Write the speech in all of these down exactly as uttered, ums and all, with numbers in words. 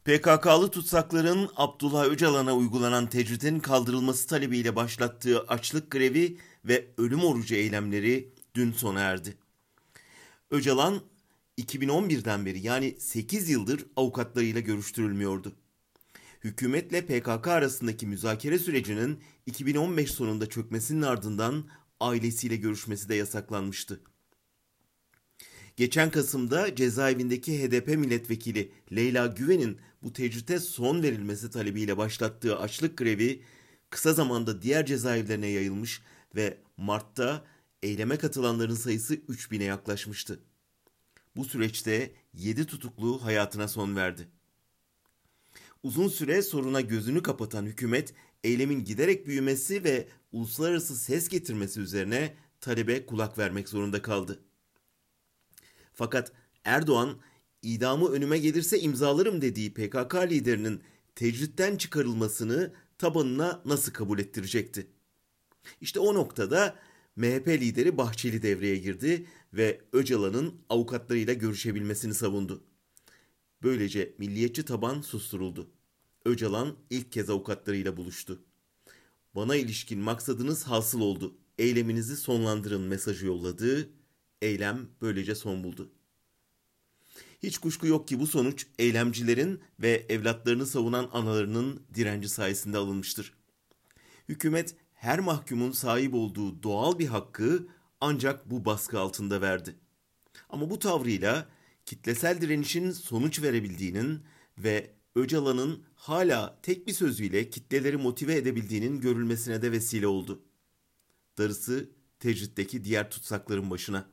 P K K'lı tutsakların Abdullah Öcalan'a uygulanan tecritin kaldırılması talebiyle başlattığı açlık grevi ve ölüm orucu eylemleri dün sona erdi. Öcalan iki bin on birden beri yani sekiz yıldır avukatlarıyla görüştürülmüyordu. Hükümetle P K K arasındaki müzakere sürecinin iki bin on beş sonunda çökmesinin ardından ailesiyle görüşmesi de yasaklanmıştı. Geçen Kasım'da cezaevindeki H D P milletvekili Leyla Güven'in bu tecrite son verilmesi talebiyle başlattığı açlık grevi kısa zamanda diğer cezaevlerine yayılmış ve Mart'ta eyleme katılanların sayısı üç bine yaklaşmıştı. Bu süreçte yedi tutuklu hayatına son verdi. Uzun süre soruna gözünü kapatan hükümet eylemin giderek büyümesi ve uluslararası ses getirmesi üzerine talebe kulak vermek zorunda kaldı. Fakat Erdoğan idamı önüme gelirse imzalarım dediği P K K liderinin tecritten çıkarılmasını tabanına nasıl kabul ettirecekti? İşte o noktada M H P lideri Bahçeli devreye girdi ve Öcalan'ın avukatlarıyla görüşebilmesini savundu. Böylece milliyetçi taban susturuldu. Öcalan ilk kez avukatlarıyla buluştu. Bana ilişkin maksadınız hasıl oldu. Eyleminizi sonlandırın mesajı yolladı. Eylem böylece son buldu. Hiç kuşku yok ki bu sonuç eylemcilerin ve evlatlarını savunan analarının direnci sayesinde alınmıştır. Hükümet her mahkumun sahip olduğu doğal bir hakkı ancak bu baskı altında verdi. Ama bu tavrıyla kitlesel direnişin sonuç verebildiğinin ve Öcalan'ın hala tek bir sözüyle kitleleri motive edebildiğinin görülmesine de vesile oldu. Darısı tecritteki diğer tutsakların başına.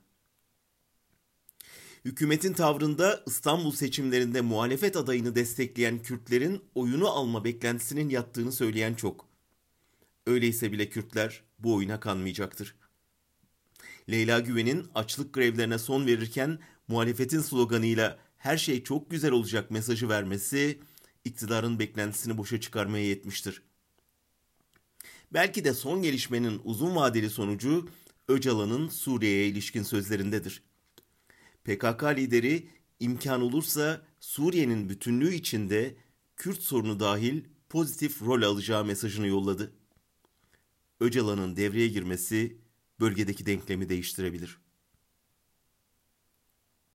Hükümetin tavrında İstanbul seçimlerinde muhalefet adayını destekleyen Kürtlerin oyunu alma beklentisinin yattığını söyleyen çok. Öyleyse bile Kürtler bu oyuna kanmayacaktır. Leyla Güven'in açlık grevlerine son verirken muhalefetin sloganıyla her şey çok güzel olacak mesajı vermesi iktidarın beklentisini boşa çıkarmaya yetmiştir. Belki de son gelişmenin uzun vadeli sonucu Öcalan'ın Suriye'ye ilişkin sözlerindedir. P K K lideri imkan olursa Suriye'nin bütünlüğü içinde Kürt sorunu dahil pozitif rol alacağı mesajını yolladı. Öcalan'ın devreye girmesi bölgedeki denklemi değiştirebilir.